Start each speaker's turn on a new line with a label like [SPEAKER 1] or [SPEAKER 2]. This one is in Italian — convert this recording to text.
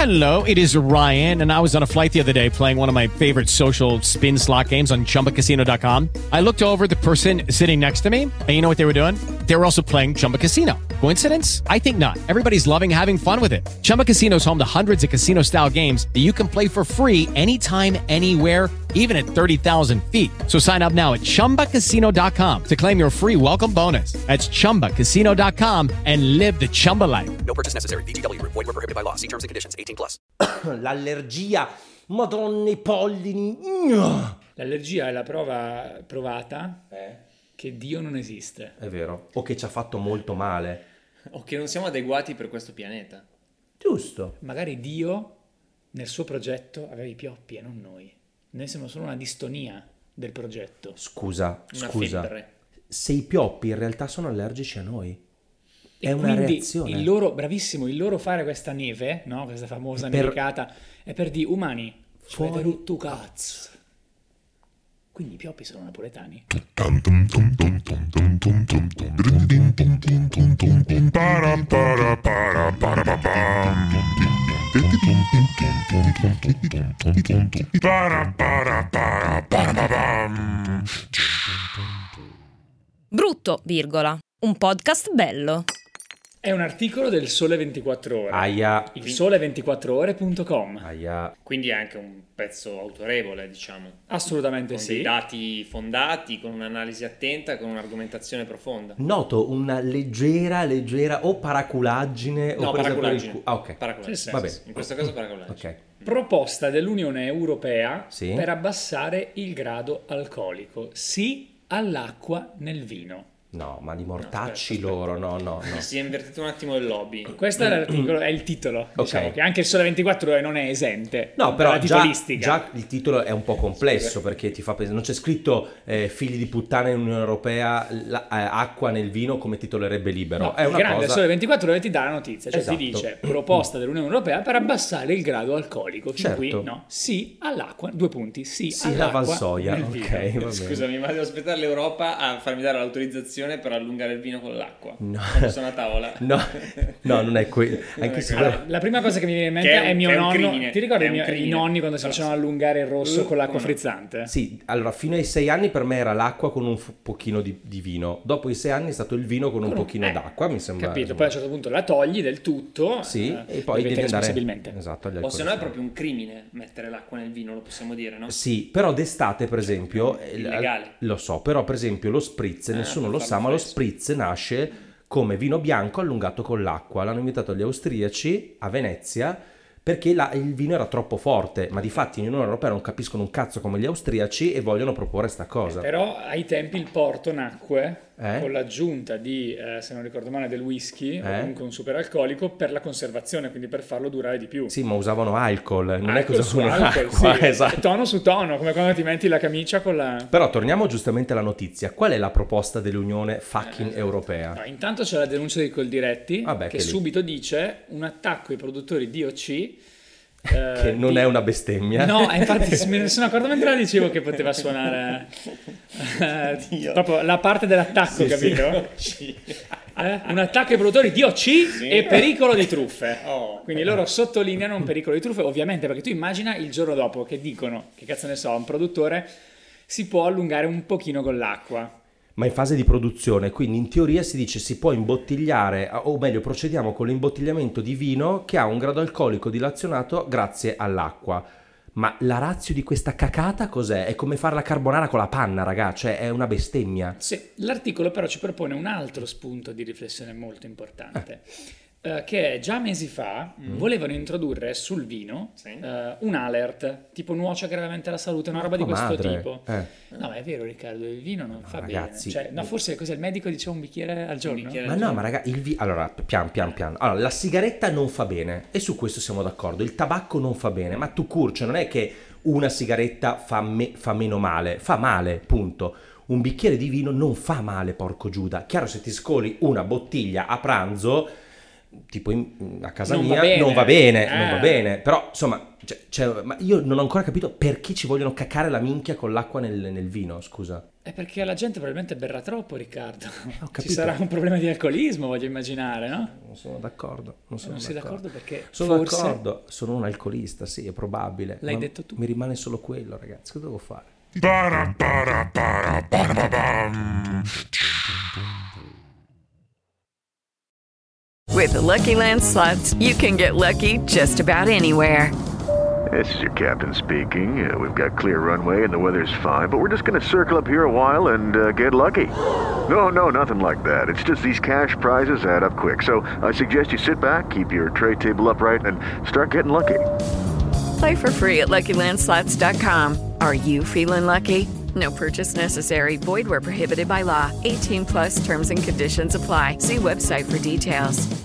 [SPEAKER 1] Hello, it is Ryan, and I was on a flight the other day playing one of my favorite social spin slot games on ChumbaCasino.com. I looked over at the person sitting next to me, and you know what they were doing? They were also playing Chumba Casino. Coincidence? I think not. Everybody's loving having fun with it. Chumba Casino is home to hundreds of casino-style games that you can play for free anytime, anywhere, even at 30,000 feet. So sign up now at ChumbaCasino.com to claim your free welcome bonus. That's ChumbaCasino.com and live the Chumba life.
[SPEAKER 2] No purchase necessary. VGW. Void were prohibited by law. See terms and conditions. 18+.
[SPEAKER 3] L'allergia, madonna i pollini.
[SPEAKER 4] L'allergia è la prova provata che Dio non esiste.
[SPEAKER 3] È vero. O che ci ha fatto molto male.
[SPEAKER 5] O che non siamo adeguati per questo pianeta.
[SPEAKER 3] Giusto.
[SPEAKER 4] Magari Dio nel suo progetto aveva i pioppi e non noi. Noi siamo solo una distonia del progetto.
[SPEAKER 3] Scusa.
[SPEAKER 5] Febbre.
[SPEAKER 3] Se i pioppi in realtà sono allergici a noi. È una
[SPEAKER 4] quindi
[SPEAKER 3] reazione.
[SPEAKER 4] il loro fare questa neve, no? Questa famosa nevicata, è per di umani.
[SPEAKER 3] Fuori
[SPEAKER 4] Fuori cazzo. Quindi i pioppi sono napoletani.
[SPEAKER 6] Brutto, virgola. Un podcast bello.
[SPEAKER 4] È un articolo del Sole 24 Ore.
[SPEAKER 3] Aia.
[SPEAKER 4] Il sole24ore.com.
[SPEAKER 3] Aia.
[SPEAKER 5] Quindi è anche un pezzo autorevole, diciamo.
[SPEAKER 4] Assolutamente
[SPEAKER 5] Con
[SPEAKER 4] sì.
[SPEAKER 5] dei dati fondati, con un'analisi attenta, con un'argomentazione profonda.
[SPEAKER 3] Noto una leggera o paraculaggine
[SPEAKER 5] No,
[SPEAKER 3] o presa per il
[SPEAKER 5] paraculaggine.
[SPEAKER 3] cu- ok.
[SPEAKER 5] Paraculaggine.
[SPEAKER 4] Sì, sì.
[SPEAKER 3] Va bene.
[SPEAKER 5] In questo caso paraculaggine.
[SPEAKER 3] Ok.
[SPEAKER 4] Proposta dell'Unione Europea
[SPEAKER 3] Sì.
[SPEAKER 4] per abbassare il grado alcolico. Sì all'acqua nel vino.
[SPEAKER 3] No, ma di mortacci
[SPEAKER 5] aspetta.
[SPEAKER 3] loro, no.
[SPEAKER 5] Si è invertito un attimo il lobby.
[SPEAKER 4] Questo è l'articolo, è il titolo. Diciamo che anche il Sole 24 Ore non è esente.
[SPEAKER 3] No, però
[SPEAKER 4] dalla titolistica.
[SPEAKER 3] già il titolo è un po' complesso perché ti fa pensare, non c'è scritto figli di puttana in Unione Europea, acqua nel vino come titolerebbe Libero.
[SPEAKER 4] No,
[SPEAKER 3] È
[SPEAKER 4] il
[SPEAKER 3] una
[SPEAKER 4] grande
[SPEAKER 3] cosa.
[SPEAKER 4] Sole 24 Ore ti dà la notizia, cioè
[SPEAKER 3] Esatto.
[SPEAKER 4] ti dice proposta dell'Unione Europea per abbassare il grado alcolico. Fin
[SPEAKER 3] Certo.
[SPEAKER 4] qui no, sì all'acqua, 2 punti, sì
[SPEAKER 3] Sì, la
[SPEAKER 4] all'acqua
[SPEAKER 3] Valsoia,
[SPEAKER 4] nel
[SPEAKER 3] ok,
[SPEAKER 4] vino.
[SPEAKER 3] va bene.
[SPEAKER 5] Scusami, ma devo aspettare l'Europa a farmi dare l'autorizzazione per allungare il vino con l'acqua.
[SPEAKER 3] No.
[SPEAKER 5] Quando sono a tavola.
[SPEAKER 3] No, non è quello. Anche se
[SPEAKER 4] Allora, la prima cosa che mi viene in mente
[SPEAKER 5] Che è
[SPEAKER 4] è
[SPEAKER 5] un-
[SPEAKER 4] mio
[SPEAKER 5] che è un
[SPEAKER 4] nonno.
[SPEAKER 5] crimine.
[SPEAKER 4] Ti ricordi
[SPEAKER 5] È un
[SPEAKER 4] i
[SPEAKER 5] crimine.
[SPEAKER 4] nonni quando si
[SPEAKER 5] Però
[SPEAKER 4] facevano allungare il rosso con l'acqua
[SPEAKER 5] come no?
[SPEAKER 4] frizzante?
[SPEAKER 3] sì, allora fino ai 6 anni per me era l'acqua con un pochino di vino. Dopo i 6 anni è stato il vino con un pochino d'acqua, mi sembra.
[SPEAKER 4] Capito, poi a un certo punto la togli del tutto.
[SPEAKER 3] Sì, e poi
[SPEAKER 4] bevete
[SPEAKER 3] devi andare
[SPEAKER 4] responsabilmente.
[SPEAKER 3] esatto, agli
[SPEAKER 5] O se no è
[SPEAKER 3] alcolisti.
[SPEAKER 5] proprio un crimine mettere l'acqua nel vino, lo possiamo dire, no?
[SPEAKER 3] Sì, però d'estate per esempio
[SPEAKER 5] illegale.
[SPEAKER 3] lo so, però per esempio lo spritz, nessuno
[SPEAKER 5] per
[SPEAKER 3] lo sa,
[SPEAKER 5] farlo
[SPEAKER 3] ma lo
[SPEAKER 5] fresco.
[SPEAKER 3] spritz nasce come vino bianco allungato con l'acqua. L'hanno inventato gli austriaci a Venezia perché il vino era troppo forte, ma di fatti in Unione Europea non capiscono un cazzo come gli austriaci e vogliono proporre sta cosa.
[SPEAKER 4] Però ai tempi il porto nacque
[SPEAKER 3] Eh?
[SPEAKER 4] con l'aggiunta di, se non ricordo male, del whisky o comunque un superalcolico per la conservazione, quindi per farlo durare di più.
[SPEAKER 3] Sì, ma usavano alcol, non è che
[SPEAKER 4] Alcol su
[SPEAKER 3] usavano
[SPEAKER 4] alcol,
[SPEAKER 3] acqua,
[SPEAKER 4] sì.
[SPEAKER 3] esatto.
[SPEAKER 4] Tono su tono, come quando ti metti la camicia con la...
[SPEAKER 3] Però torniamo giustamente alla notizia. Qual è la proposta dell'Unione fucking Europea?
[SPEAKER 4] No, intanto c'è la denuncia di Coldiretti
[SPEAKER 3] Vabbè,
[SPEAKER 4] che
[SPEAKER 3] che lì.
[SPEAKER 4] subito dice un attacco ai produttori di OC
[SPEAKER 3] Che non è una bestemmia.
[SPEAKER 4] No, infatti me ne sono accorto mentre la dicevo che poteva suonare proprio la parte dell'attacco, capito? Un attacco ai produttori di OC e pericolo di truffe. Quindi loro sottolineano un pericolo di truffe, ovviamente, perché tu immagina il giorno dopo che dicono, che cazzo ne so, un produttore si può allungare un pochino con l'acqua.
[SPEAKER 3] Ma in fase di produzione, quindi in teoria si dice si può imbottigliare, o meglio procediamo con l'imbottigliamento di vino che ha un grado alcolico dilazionato grazie all'acqua. Ma la ratio di questa cacata cos'è? È come fare la carbonara con la panna, raga, cioè è una bestemmia.
[SPEAKER 4] Sì, l'articolo però ci propone un altro spunto di riflessione molto importante, che già mesi fa volevano introdurre sul vino un alert, tipo nuoce gravemente alla salute, una roba di questo
[SPEAKER 3] madre.
[SPEAKER 4] tipo. No, ma è vero Riccardo, il vino non fa
[SPEAKER 3] ragazzi,
[SPEAKER 4] bene. Cioè, no, forse cos'è il medico diceva un bicchiere al giorno?
[SPEAKER 5] bicchiere
[SPEAKER 3] Ma no, ma raga, allora, pian. Allora, la sigaretta non fa bene, e su questo siamo d'accordo. Il tabacco non fa bene, ma tu curcio, non è che una sigaretta fa meno male, fa male, punto. Un bicchiere di vino non fa male, porco Giuda. Chiaro, se ti scoli una bottiglia a pranzo, tipo a casa
[SPEAKER 4] Non
[SPEAKER 3] mia,
[SPEAKER 4] va bene.
[SPEAKER 3] non va bene. Però, insomma, ma io non ho ancora capito perché ci vogliono cacare la minchia con l'acqua nel vino, scusa.
[SPEAKER 4] È perché la gente probabilmente berrà troppo, Riccardo.
[SPEAKER 3] Ho capito.
[SPEAKER 4] Ci sarà un problema di alcolismo, voglio immaginare, no?
[SPEAKER 3] Non sono d'accordo. Non
[SPEAKER 4] sei d'accordo perché
[SPEAKER 3] sono
[SPEAKER 4] forse...
[SPEAKER 3] d'accordo, sono un alcolista, sì, è probabile.
[SPEAKER 4] L'hai
[SPEAKER 3] ma
[SPEAKER 4] detto tu.
[SPEAKER 3] Mi rimane solo quello, ragazzi. Cosa devo fare?
[SPEAKER 7] With the Lucky Land Slots, you can get lucky just about anywhere.
[SPEAKER 8] This is your captain speaking. We've got clear runway and the weather's fine, but we're just going to circle up here a while and get lucky. No, nothing like that. It's just these cash prizes add up quick. So I suggest you sit back, keep your tray table upright, and start getting lucky.
[SPEAKER 7] Play for free at LuckyLandSlots.com. Are you feeling lucky? No purchase necessary. Void where prohibited by law. 18+ terms and conditions apply. See website for details.